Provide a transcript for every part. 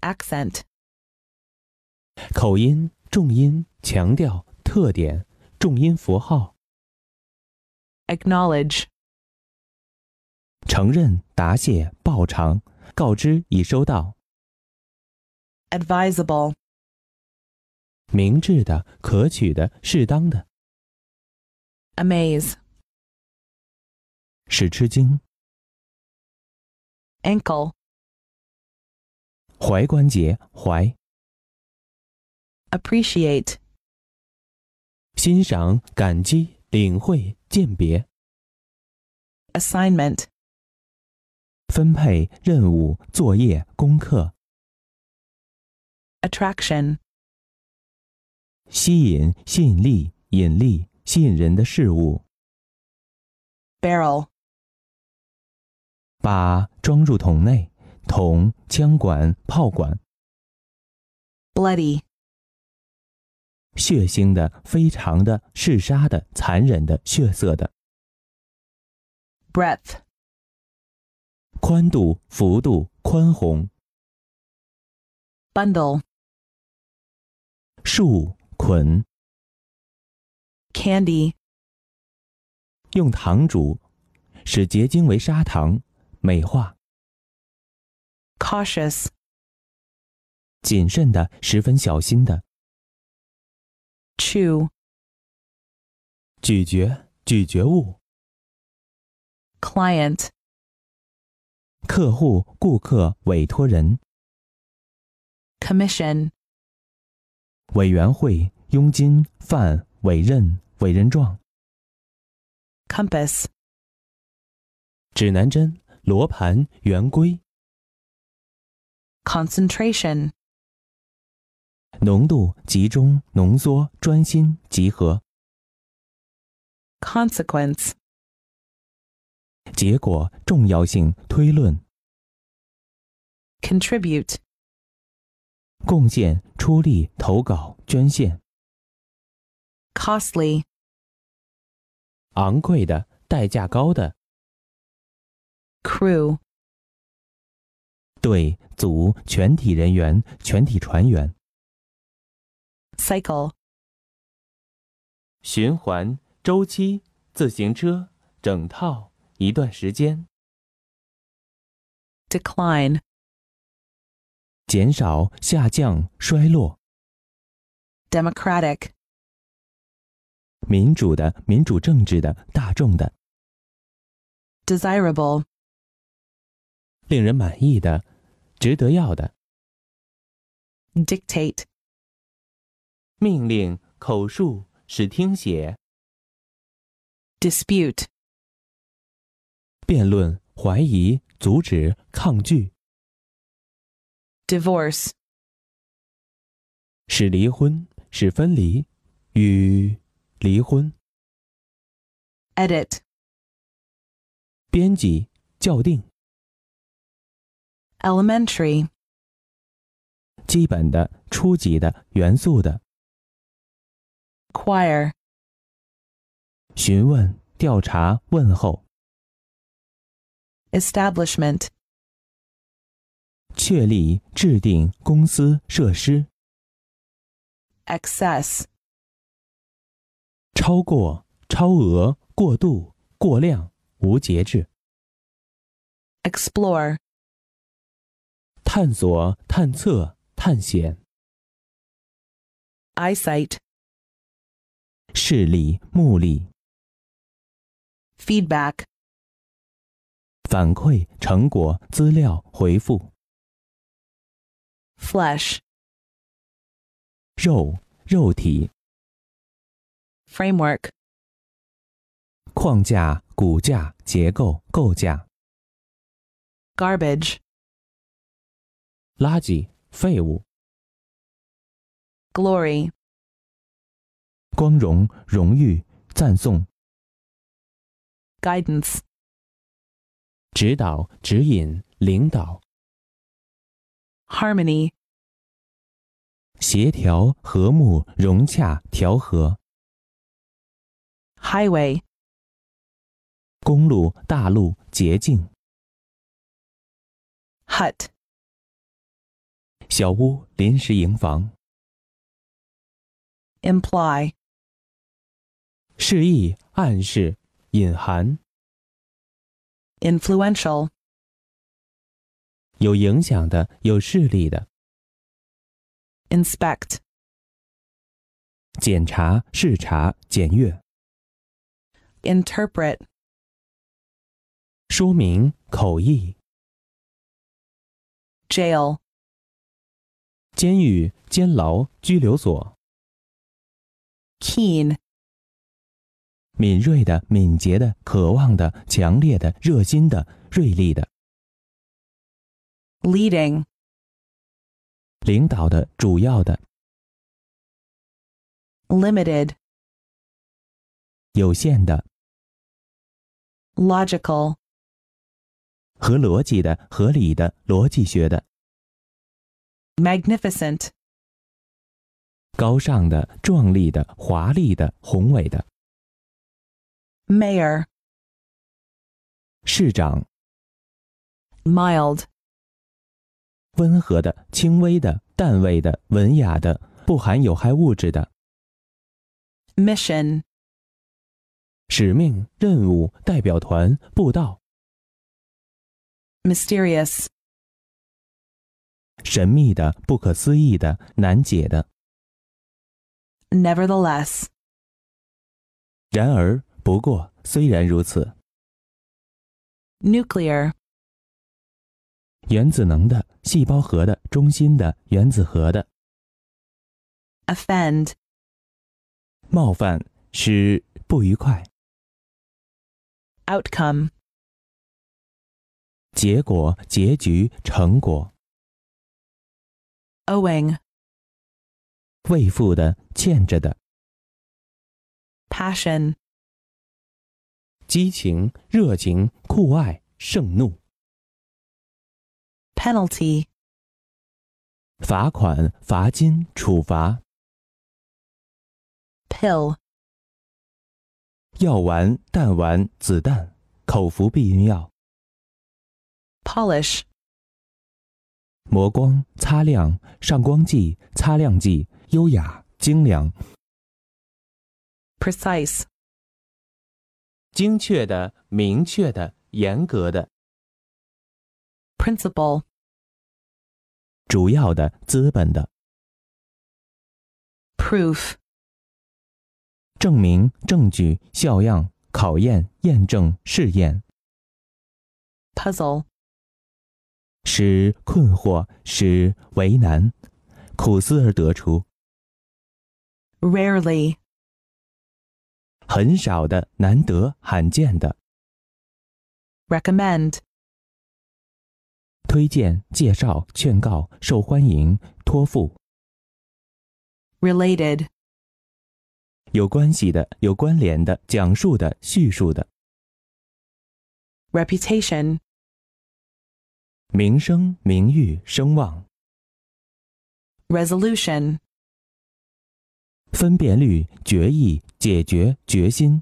accent, 口音、重音、强调、特点、重音符号。 acknowledge, 承认、答谢、报偿、告知已收到。 advisable, 明智的、可取的、适当的。 amaze, 使吃惊。 ankle, 踝关节、踝。 appreciate, 欣赏、感激、领会、鉴别。 assignment, 分配、任务、作业、功课。 attraction, 吸引、吸引力、引力、吸引人的事物。 barrel, 把装入桶内，桶、枪管、炮管。 bloody, 血腥的、非常的、嗜杀的、残忍的、血色的。 breadth, 宽度、幅度、宽宏。 bundle, 束、捆。 candy, 用糖煮，使结晶为砂糖，美化。 cautious, 谨慎的，十分小心的。 chew, 咀嚼、咀嚼物。 client, 客户、顾客、委托人。 commission, 委员会、佣金、范、委任、委任状。 compass, 指南针、罗盘、圆规。 concentration, 浓度、集中、浓缩、专心、集合。 consequence, 结果、重要性、推论。 contribute, 贡献、出力、投稿、捐献。 costly, 昂贵的、代价高的。 crew, 队、组、全体人员、全体船员。 cycle, 循环、周期、自行车、整套、一段时间。 decline, 减少、下降、衰落。 democratic, 民主的、民主政治的、大众的。 desirable, 令人满意的、值得要的。 dictate, 命令、口述、使听写。 dispute, 辩论、怀疑、阻止、抗拒。 divorce, 使离婚、使分离、与离婚。 edit, 编辑、校订。 elementary, 基本的、初级的、元素的。 choir, 询问、调查、问候。 establishment, 确立、制定、公司、设施。 excess, 超过、超额、过度、过量、无节制。 explore, 探索、探测、探险。 eyesight, 视力、目力。 feedback, 反馈、成果、资料、回复。 flesh, 肉、肉体。 framework, 框架、骨架、结构、构架。 garbage, 垃圾、废物。 glory, 光荣、荣誉、赞颂。 guidance, 指导、指引、领导。 harmony, 协调、和睦、融洽、调和。 highway, 公路、大路、捷径。 hut, 小屋临时营房。 imply, 示意、暗示、隐含。 influential, 有影响的、有势力的。 inspect, 检查、视察、检阅。 interpret, 说明、口译。 jail, 监狱、监牢、拘留所。 keen, 敏锐的、敏捷的、渴望的、强烈的、热心的、锐利的。 leading, 领导的、主要的。 limited, 有限的。 logical, 合逻辑的、合理的、逻辑学的。 magnificent, 高尚的、壮丽的、华丽的、宏伟的。 mayor, 市长。 mild, 温和的、轻微的、淡味的、文雅的、不含有害物质的。 mission, 使命、任务、代表团、布道。 mysterious, 神秘的、不可思议的、难解的。 nevertheless, 然而，不过，虽然如此。 nuclear, 原子能的、细胞核的、中心的、原子核的。 offend, 冒犯，使不愉快。 outcome, 结果、结局、成果。 owing, 未付的、欠着的。 passion, 激情、热情、酷爱、盛怒。 penalty, 罚款、罚金、处罚。 pill, 药丸、弹丸、子弹、口服避孕药。 polish, 磨光、擦亮、上光剂、擦亮剂、优雅、精良。 precise, 精确的、明确的、严格的。 principle, 主要的、资本的。 proof, 证明、证据、效样、考验、验证、试验。 puzzle, 使困惑，使为难，苦思而得出。 rarely, 很少的、难得、罕见的。 recommend, 推荐、介绍、劝告、受欢迎、托付。 related, 有关系的、有关联的、讲述的、叙述的。 reputation, 名声、名誉、声望。 resolution, 分辨率、决议、解决、决心。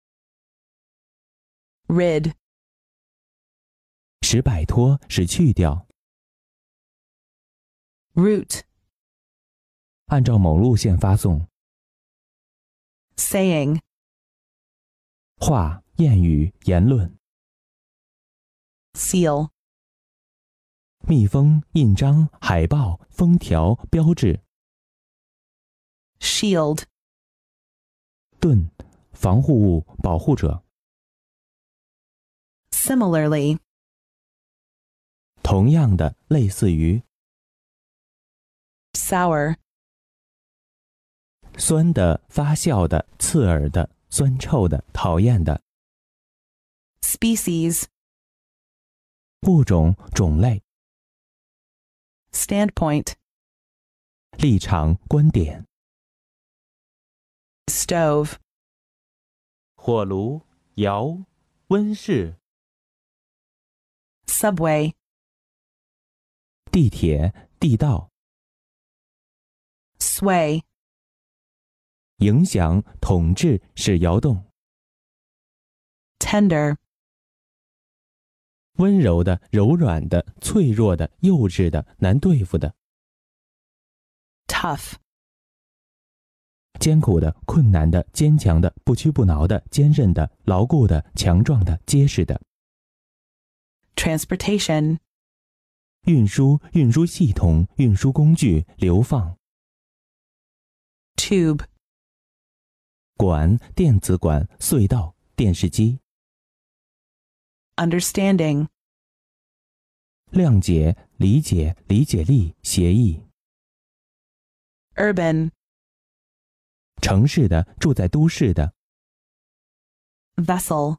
rid, 使摆脱，使去掉。 route, 按照某路线发送。 saying, 话、谚语、言论。 seal, 密封、印章、海报、封条、标志。 shield, 盾，防护物、保护者。 similarly, 同样的，类似于。 sour, 酸的、发酵的、刺耳的、酸臭的、讨厌的。 species, 物种、种类。 standpoint, 立场、观点。 stove, 火炉、窑、温室。 subway, 地铁、地道。 sway, 影响、统治、使摇动。 tender, 温柔的、柔软的、脆弱的、幼稚的、难对付的。 tough, 艰苦的、困难的、坚强的、不屈不挠的、坚韧的、牢固的、强壮的、结实的。 transportation, 运输、运输系统、运输工具、流放。 tube, 管、电子管、隧道、电视机。 understanding, 谅解、理解、理解力、协议。 urban, 城市的、住在都市的。 vessel,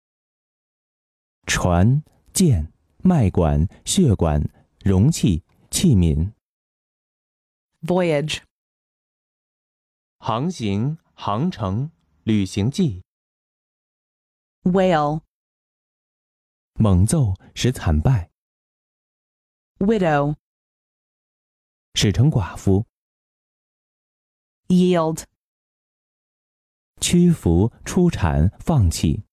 船、舰、脉管、血管、容器、器皿。 voyage, 航行、航程、旅行记。 whale, 猛奏使惨败， widow, 使成寡妇。 yield, 屈服、出产、放弃。